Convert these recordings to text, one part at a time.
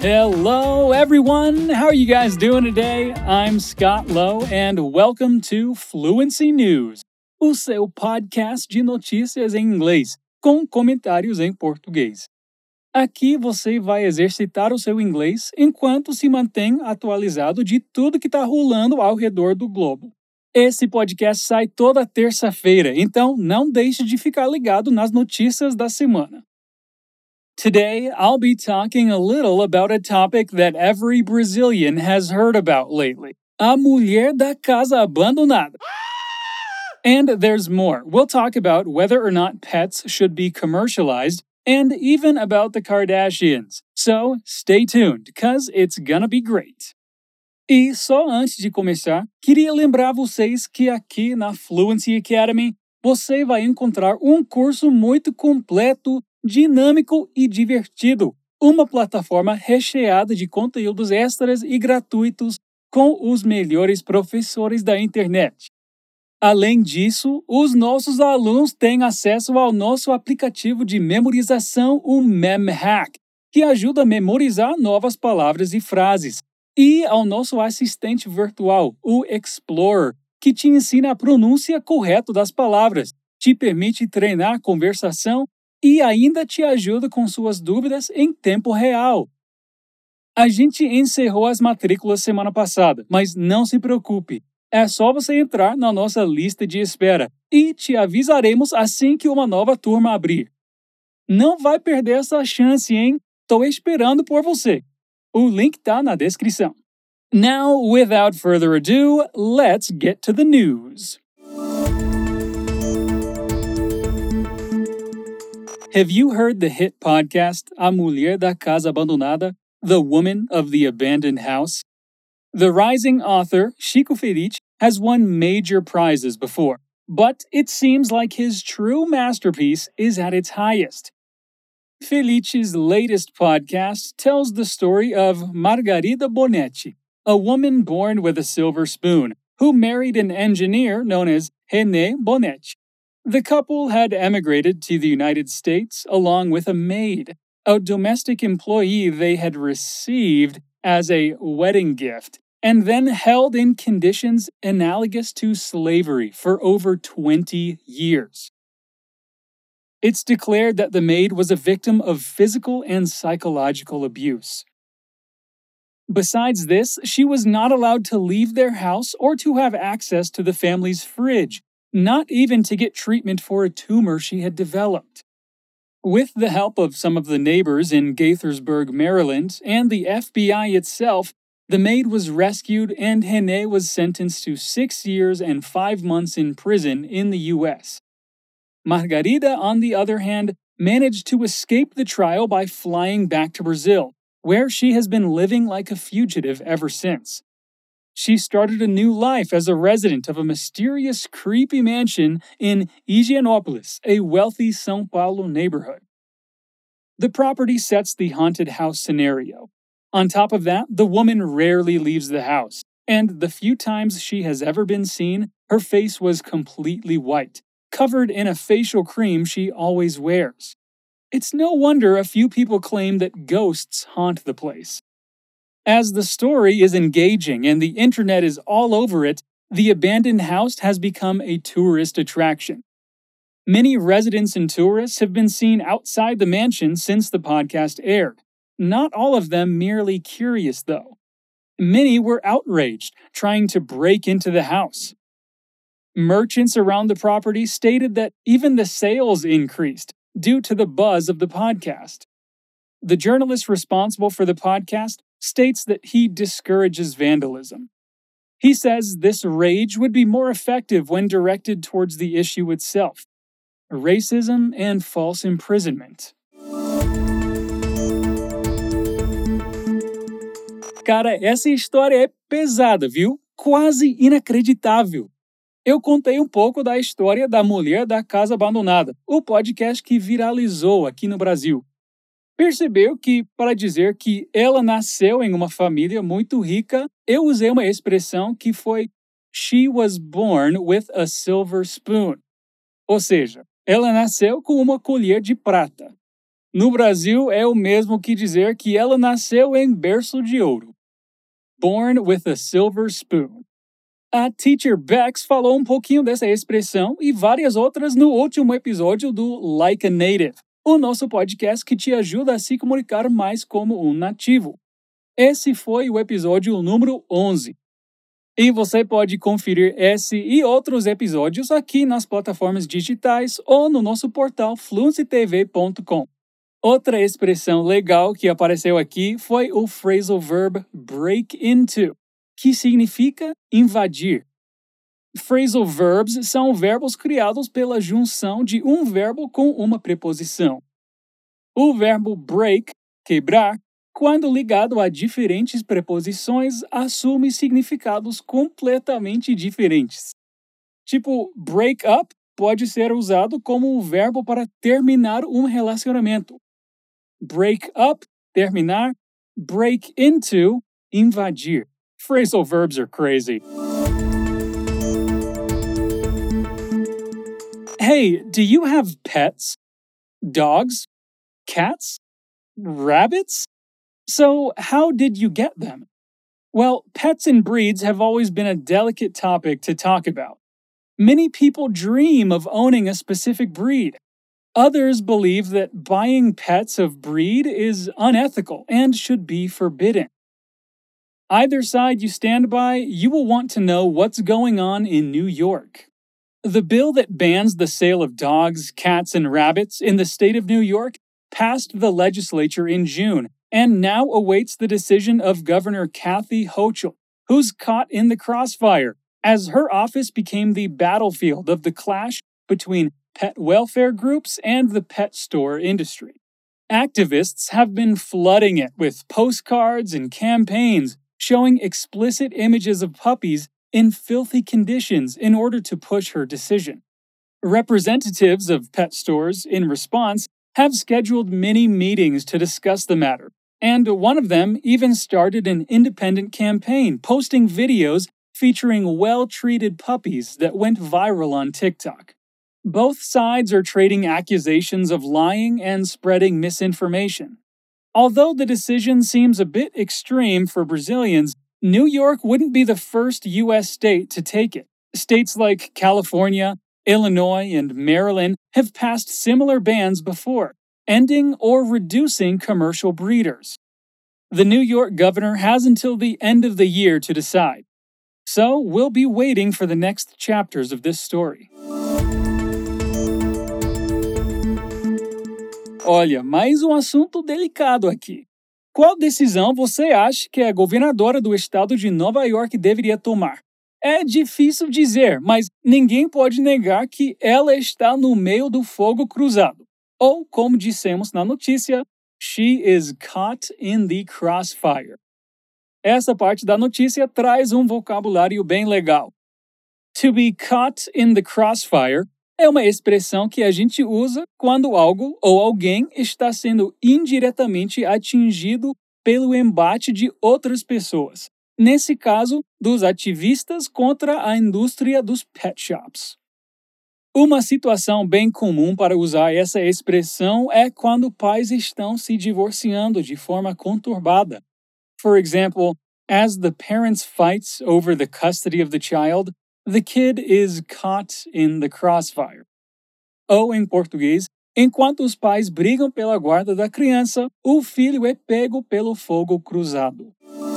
Hello, everyone. How are you guys doing today? I'm Scott Lowe, and welcome to Fluency News, o seu podcast de notícias em inglês, com comentários em português. Aqui você vai exercitar o seu inglês enquanto se mantém atualizado de tudo que está rolando ao redor do globo. Esse podcast sai toda terça-feira, então não deixe de ficar ligado nas notícias da semana. Today, I'll be talking a little about a topic that every Brazilian has heard about lately: a mulher da casa abandonada. And there's more. We'll talk about whether or not pets should be commercialized, and even about the Kardashians. So, stay tuned, cause it's gonna be great. E só antes de começar, queria lembrar vocês que aqui na Fluency Academy você vai encontrar um curso muito completo, dinâmico e divertido. Uma plataforma recheada de conteúdos extras e gratuitos com os melhores professores da internet. Além disso, os nossos alunos têm acesso ao nosso aplicativo de memorização, o MemHack, que ajuda a memorizar novas palavras e frases, e ao nosso assistente virtual, o Explorer, que te ensina a pronúncia correta das palavras, te permite treinar conversação e ainda te ajuda com suas dúvidas em tempo real. A gente encerrou as matrículas semana passada, mas não se preocupe. É só você entrar na nossa lista de espera e te avisaremos assim que uma nova turma abrir. Não vai perder essa chance, hein? Tô esperando por você. O link tá na descrição. Now, without further ado, let's get to the news. Have you heard the hit podcast A Mulher da Casa Abandonada, The Woman of the Abandoned House? The rising author, Chico Felice, has won major prizes before, but it seems like his true masterpiece is at its highest. Felice's latest podcast tells the story of Margarida Bonetti, a woman born with a silver spoon, who married an engineer known as René Bonetti. The couple had emigrated to the United States along with a maid, a domestic employee they had received as a wedding gift, and then held in conditions analogous to slavery for over 20 years. It's declared that the maid was a victim of physical and psychological abuse. Besides this, she was not allowed to leave their house or to have access to the family's fridge, not even to get treatment for a tumor she had developed. With the help of some of the neighbors in Gaithersburg, Maryland, and the FBI itself, the maid was rescued and René was sentenced to 6 years and 5 months in prison in the U.S. Margarida, on the other hand, managed to escape the trial by flying back to Brazil, where she has been living like a fugitive ever since. She started a new life as a resident of a mysterious, creepy mansion in Higienópolis, a wealthy São Paulo neighborhood. The property sets the haunted house scenario. On top of that, the woman rarely leaves the house, and the few times she has ever been seen, her face was completely white, covered in a facial cream she always wears. It's no wonder a few people claim that ghosts haunt the place. As the story is engaging and the internet is all over it, the abandoned house has become a tourist attraction. Many residents and tourists have been seen outside the mansion since the podcast aired. Not all of them merely curious, though. Many were outraged, trying to break into the house. Merchants around the property stated that even the sales increased due to the buzz of the podcast. The journalist responsible for the podcast states that he discourages vandalism. He says this rage would be more effective when directed towards the issue itself: racism and false imprisonment. Cara, essa história é pesada, viu? Quase inacreditável. Eu contei um pouco da história da Mulher da Casa Abandonada, o podcast que viralizou aqui no Brasil. Percebeu que, para dizer que ela nasceu em uma família muito rica, eu usei uma expressão que foi "she was born with a silver spoon". Ou seja, ela nasceu com uma colher de prata. No Brasil, é o mesmo que dizer que ela nasceu em berço de ouro. Born with a silver spoon. A Teacher Bex falou um pouquinho dessa expressão e várias outras no último episódio do Like a Native, o nosso podcast que te ajuda a se comunicar mais como um nativo. Esse foi o episódio número 11. E você pode conferir esse e outros episódios aqui nas plataformas digitais ou no nosso portal fluencytv.com. Outra expressão legal que apareceu aqui foi o phrasal verb break into, que significa invadir. Phrasal verbs são verbos criados pela junção de um verbo com uma preposição. O verbo break, quebrar, quando ligado a diferentes preposições, assume significados completamente diferentes. Tipo, break up pode ser usado como um verbo para terminar um relacionamento. Break up, terminar. Break into, invadir. Phrasal verbs are crazy. Hey, do you have pets? Dogs? Cats? Rabbits? So, how did you get them? Well, pets and breeds have always been a delicate topic to talk about. Many people dream of owning a specific breed. Others believe that buying pets of breed is unethical and should be forbidden. Either side you stand by, you will want to know what's going on in New York. The bill that bans the sale of dogs, cats, and rabbits in the state of New York passed the legislature in June and now awaits the decision of Governor Kathy Hochul, who's caught in the crossfire, as her office became the battlefield of the clash between pet welfare groups and the pet store industry. Activists have been flooding it with postcards and campaigns showing explicit images of puppies in filthy conditions in order to push her decision. Representatives of pet stores, in response, have scheduled many meetings to discuss the matter, and one of them even started an independent campaign posting videos featuring well-treated puppies that went viral on TikTok. Both sides are trading accusations of lying and spreading misinformation. Although the decision seems a bit extreme for Brazilians, New York wouldn't be the first U.S. state to take it. States like California, Illinois, and Maryland have passed similar bans before, ending or reducing commercial breeders. The New York governor has until the end of the year to decide. So we'll be waiting for the next chapters of this story. Olha, mais um assunto delicado aqui. Qual decisão você acha que a governadora do estado de Nova York deveria tomar? É difícil dizer, mas ninguém pode negar que ela está no meio do fogo cruzado. Ou, como dissemos na notícia, she is caught in the crossfire. Essa parte da notícia traz um vocabulário bem legal. To be caught in the crossfire é uma expressão que a gente usa quando algo ou alguém está sendo indiretamente atingido pelo embate de outras pessoas. Nesse caso, dos ativistas contra a indústria dos pet shops. Uma situação bem comum para usar essa expressão é quando pais estão se divorciando de forma conturbada. For example, as the parents fights over the custody of the child, the kid is caught in the crossfire. Ou, em português, enquanto os pais brigam pela guarda da criança, o filho é pego pelo fogo cruzado.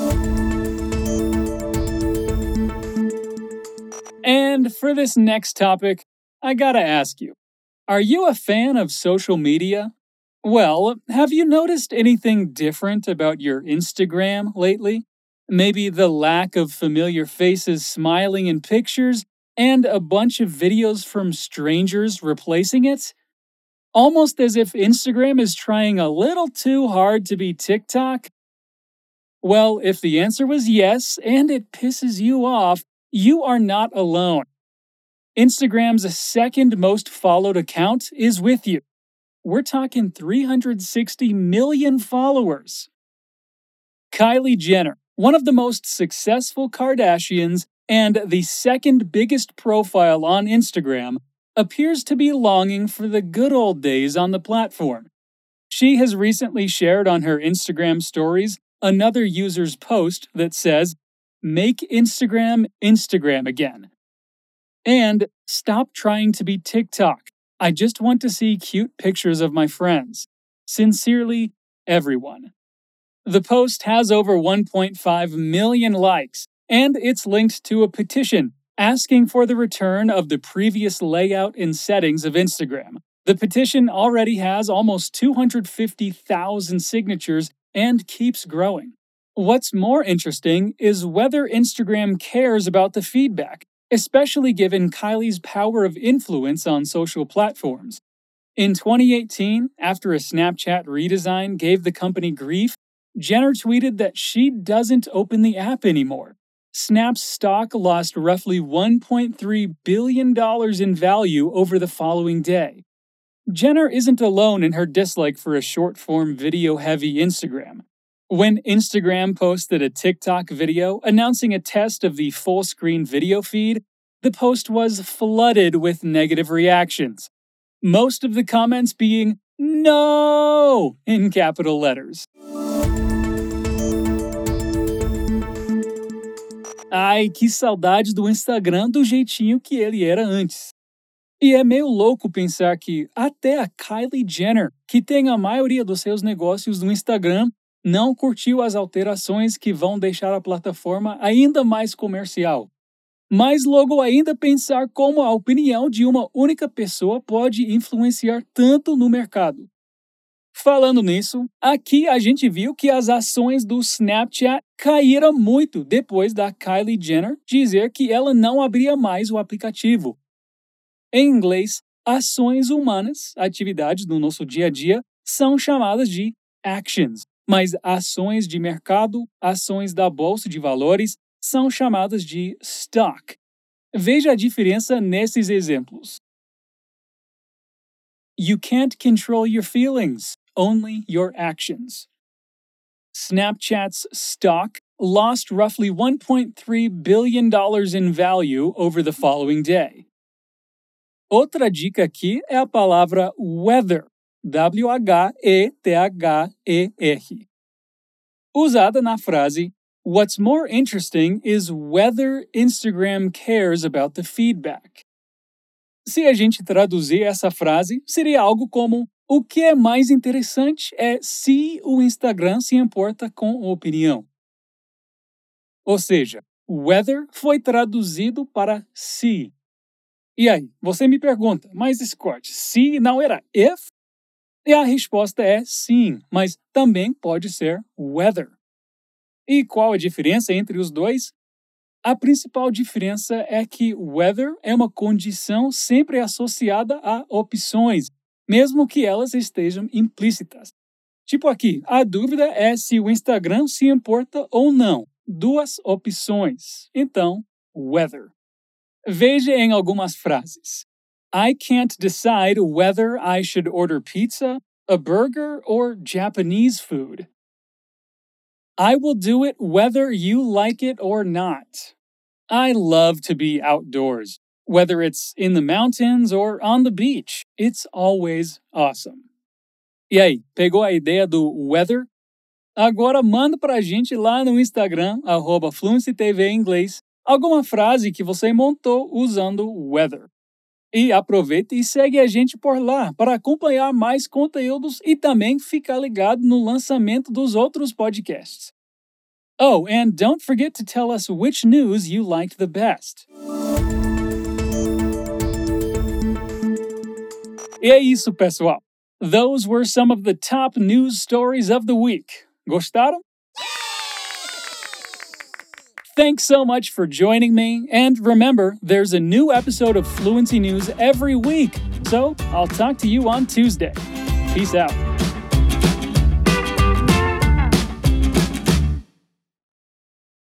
And for this next topic, I gotta ask you, are you a fan of social media? Well, have you noticed anything different about your Instagram lately? Maybe the lack of familiar faces smiling in pictures and a bunch of videos from strangers replacing it? Almost as if Instagram is trying a little too hard to be TikTok? Well, if the answer was yes and it pisses you off, you are not alone. Instagram's second most followed account is with you. We're talking 360 million followers. Kylie Jenner, one of the most successful Kardashians and the second biggest profile on Instagram, appears to be longing for the good old days on the platform. She has recently shared on her Instagram stories another user's post that says, "Make Instagram Instagram again." And "Stop trying to be TikTok. I just want to see cute pictures of my friends. Sincerely, everyone." The post has over 1.5 million likes, and it's linked to a petition asking for the return of the previous layout and settings of Instagram. The petition already has almost 250,000 signatures and keeps growing. What's more interesting is whether Instagram cares about the feedback, especially given Kylie's power of influence on social platforms. In 2018, after a Snapchat redesign gave the company grief, Jenner tweeted that she doesn't open the app anymore. Snap's stock lost roughly $1.3 billion in value over the following day. Jenner isn't alone in her dislike for a short-form video-heavy Instagram. When Instagram posted a TikTok video announcing a test of the full-screen video feed, the post was flooded with negative reactions. Most of the comments being "No" in capital letters. Ai, que saudade do Instagram do jeitinho que ele era antes. E é meio louco pensar que até a Kylie Jenner, que tem a maioria dos seus negócios no Instagram, não curtiu as alterações que vão deixar a plataforma ainda mais comercial. Mais logo ainda pensar como a opinião de uma única pessoa pode influenciar tanto no mercado. Falando nisso, aqui a gente viu que as ações do Snapchat caíram muito depois da Kylie Jenner dizer que ela não abria mais o aplicativo. Em inglês, ações humanas, atividades do nosso dia a dia, são chamadas de actions, mas ações de mercado, ações da bolsa de valores, são chamadas de stock. Veja a diferença nesses exemplos. You can't control your feelings, only your actions. Snapchat's stock lost roughly $1.3 billion in value over the following day. Outra dica aqui é a palavra weather, W-H-E-T-H-E-R, usada na frase "What's more interesting is whether Instagram cares about the feedback." Se a gente traduzir essa frase, seria algo como: o que é mais interessante é se o Instagram se importa com a opinião. Ou seja, whether foi traduzido para se. E aí, você me pergunta, mas Scott, se não era if? E a resposta é sim, mas também pode ser whether. E qual a diferença entre os dois? A principal diferença é que whether é uma condição sempre associada a opções, mesmo que elas estejam implícitas. Tipo aqui, a dúvida é se o Instagram se importa ou não. Duas opções. Então, whether. Veja em algumas frases. I can't decide whether I should order pizza, a burger, or Japanese food. I will do it whether you like it or not. I love to be outdoors. Whether it's in the mountains or on the beach, it's always awesome. E aí, pegou a ideia do weather? Agora manda pra gente lá no Instagram, @FluencyTV em inglês, alguma frase que você montou usando weather. E aproveita e segue a gente por lá para acompanhar mais conteúdos e também ficar ligado no lançamento dos outros podcasts. Oh, and don't forget to tell us which news you liked the best. E é isso, pessoal. Those were some of the top news stories of the week. Gostaram? Thanks so much for joining me, and remember, there's a new episode of Fluency News every week, so I'll talk to you on Tuesday. Peace out.